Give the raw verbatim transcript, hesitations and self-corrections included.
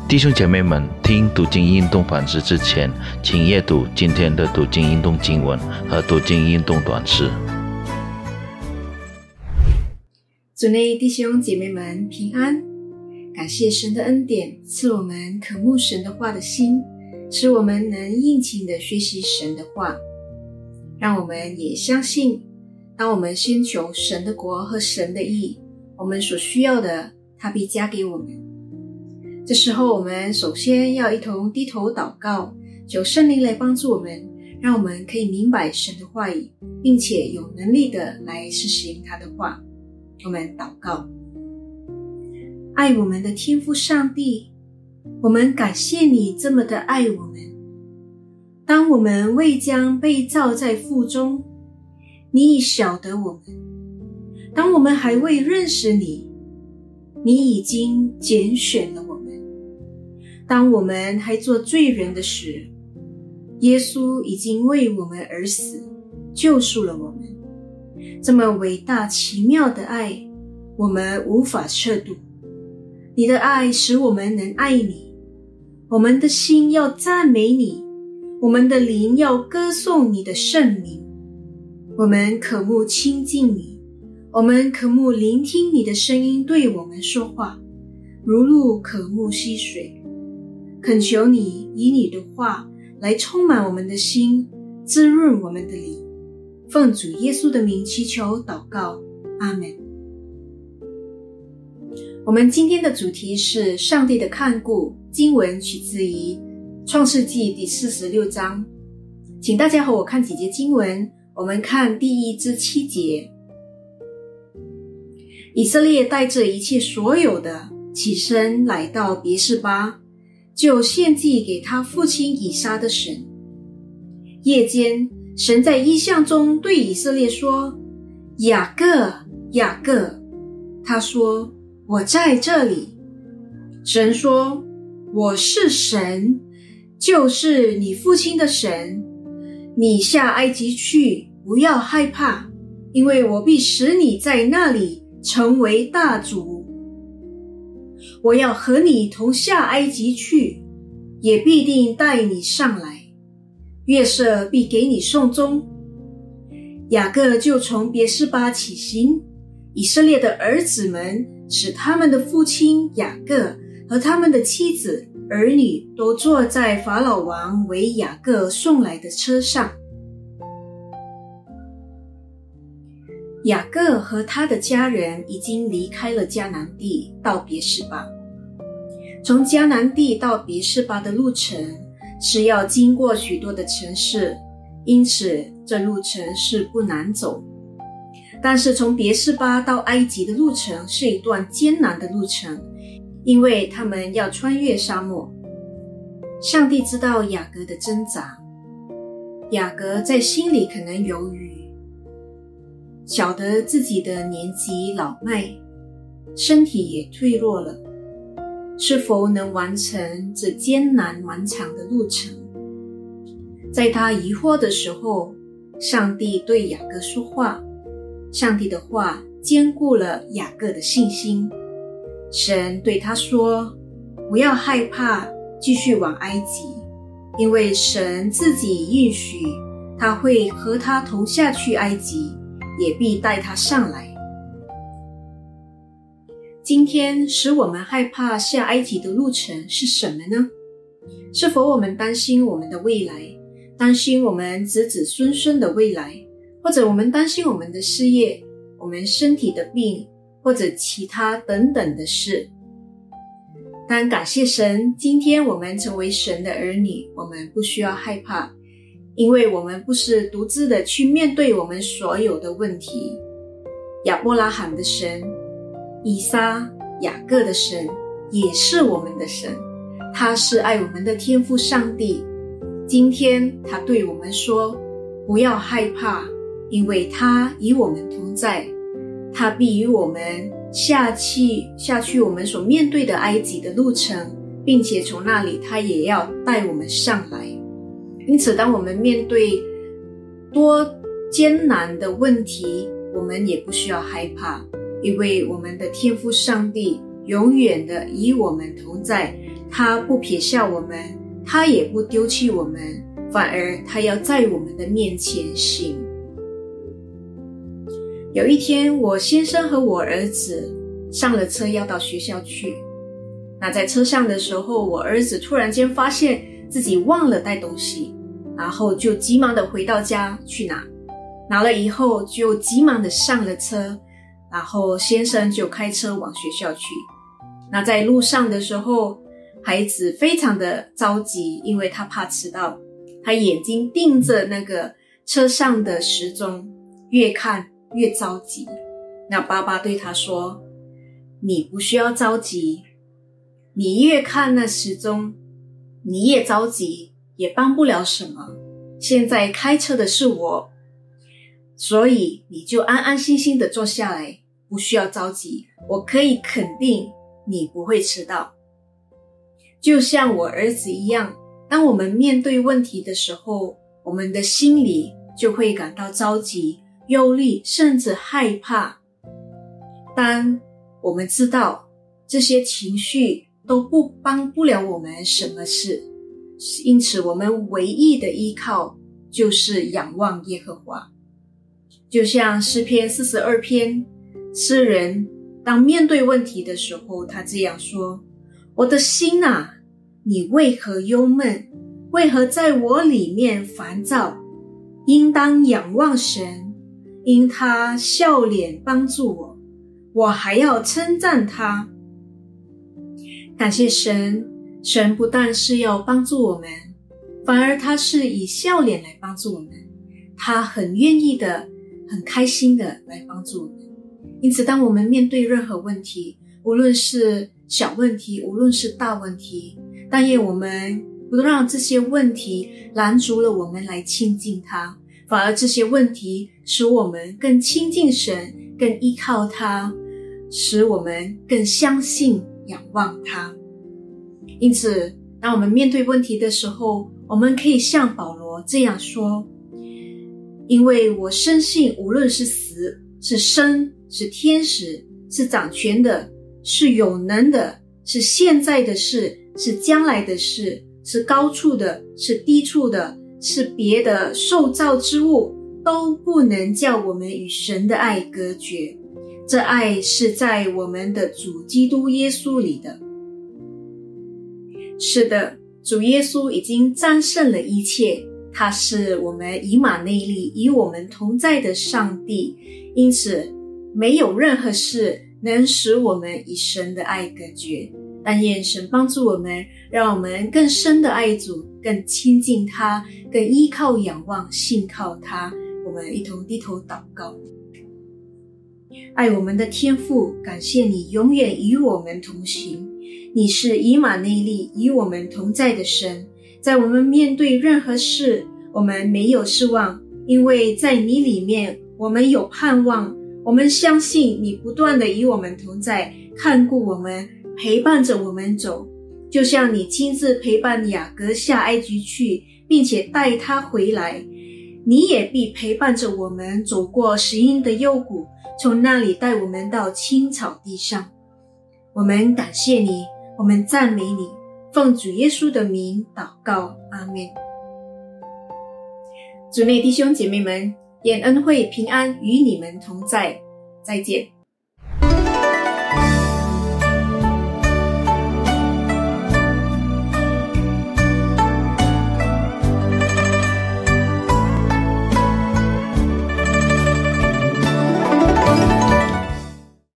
弟兄姐妹们，听读经运动反思之前，请阅读今天的读经运动经文和读经运动短诗。 主内弟兄姐妹们平安，感谢神的恩典，赐我们渴慕神的话的心，使我们能殷勤地学习神的话。让我们也相信，当我们先求神的国和神的义，我们所需要的他必加给我们。这时候我们首先要一同低头祷告，求圣灵来帮助我们，让我们可以明白神的话语，并且有能力的来实行他的话。我们祷告。爱我们的天父上帝，我们感谢你这么的爱我们。当我们未将被造在腹中，你已晓得我们。当我们还未认识你，你已经拣选了我们。当我们还做罪人的时，耶稣已经为我们而死，救赎了我们。这么伟大奇妙的爱，我们无法测度。你的爱使我们能爱你，我们的心要赞美你，我们的灵要歌颂你的圣名。我们渴慕亲近你，我们渴慕聆听你的声音对我们说话，如鹿渴慕溪水。恳求你以你的话来充满我们的心，滋润我们的灵。奉主耶稣的名祈求祷告，阿们。我们今天的主题是上帝的看顾，经文取自于创世纪第四十六章。请大家和我看几节经文，我们看第一至七节。以色列带着一切所有的起身来到别是巴，就献祭给他父亲以撒的神。夜间，神在异象中对以色列说：雅各，雅各。他说：我在这里。神说：我是神，就是你父亲的神。你下埃及去，不要害怕，因为我必使你在那里成为大族。我要和你同下埃及去，也必定带你上来。约瑟必给你送终。雅各就从别是巴起行，以色列的儿子们使他们的父亲雅各和他们的妻子儿女都坐在法老王为雅各送来的车上。雅各和他的家人已经离开了迦南地，到别是巴。从迦南地到别是巴的路程是要经过许多的城市，因此这路程是不难走。但是从别是巴到埃及的路程是一段艰难的路程，因为他们要穿越沙漠。上帝知道雅各的挣扎，雅各在心里可能犹豫，晓得自己的年纪老迈，身体也退弱了，是否能完成这艰难漫长的路程？在他疑惑的时候，上帝对雅各说话，上帝的话坚固了雅各的信心。神对他说：不要害怕，继续往埃及，因为神自己允许他会和他同下去埃及，也必带他上来。今天使我们害怕下埃及的路程是什么呢？是否我们担心我们的未来，担心我们子子孙孙的未来，或者我们担心我们的事业，我们身体的病，或者其他等等的事？但感谢神，今天我们成为神的儿女，我们不需要害怕，因为我们不是独自的去面对我们所有的问题。亚伯拉罕的神，以撒、雅各的神也是我们的神，他是爱我们的天父上帝。今天他对我们说：不要害怕，因为他与我们同在，他必与我们下去下去我们所面对的埃及的路程，并且从那里他也要带我们上来。因此当我们面对多艰难的问题，我们也不需要害怕，因为我们的天父上帝永远的与我们同在， 他不撇下我们，他也不丢弃我们，反而他要在我们的面前行。有一天，我先生和我儿子上了车要到学校去。那在车上的时候，我儿子突然间发现自己忘了带东西，然后就急忙的回到家去拿。拿了以后就急忙的上了车，然后先生就开车往学校去。那在路上的时候，孩子非常的着急，因为他怕迟到，他眼睛盯着那个车上的时钟，越看越着急。那爸爸对他说，你不需要着急，你越看那时钟，你越着急，也帮不了什么。现在开车的是我，所以你就安安心心的坐下来，不需要着急，我可以肯定你不会迟到。就像我儿子一样，当我们面对问题的时候，我们的心里就会感到着急、忧虑，甚至害怕。当我们知道这些情绪都不帮不了我们什么事，因此我们唯一的依靠就是仰望耶和华。就像诗篇四十二篇，诗人当面对问题的时候，他这样说，我的心啊，你为何忧闷？为何在我里面烦躁？应当仰望神，因他笑脸帮助我，我还要称赞他。感谢神，神不但是要帮助我们，反而他是以笑脸来帮助我们，他很愿意的，很开心的来帮助我们。因此当我们面对任何问题，无论是小问题，无论是大问题，但愿我们不让这些问题拦阻了我们来亲近他，反而这些问题使我们更亲近神，更依靠他，使我们更相信仰望他。因此当我们面对问题的时候，我们可以像保罗这样说，因为我深信无论是死是生，是天使，是掌权的，是有能的，是现在的事，是将来的事，是高处的，是低处的，是别的受造之物，都不能叫我们与神的爱隔绝。这爱是在我们的主基督耶稣里的。是的，主耶稣已经战胜了一切，他是我们以马内利，与我们同在的上帝，因此没有任何事能使我们与神的爱隔绝。但愿神帮助我们，让我们更深的爱主，更亲近他，更依靠仰望信靠他。我们一同低头祷告。爱我们的天父，感谢你永远与我们同行，你是以马内利，与我们同在的神。在我们面对任何事，我们没有失望，因为在你里面我们有盼望。我们相信你不断的与我们同在，看顾我们，陪伴着我们走，就像你亲自陪伴雅各下埃及去，并且带他回来，你也必陪伴着我们走过死荫的幽谷，从那里带我们到青草地上。我们感谢你，我们赞美你，奉主耶稣的名祷告，阿们。主内弟兄姐妹们，愿恩惠平安与你们同在，再见。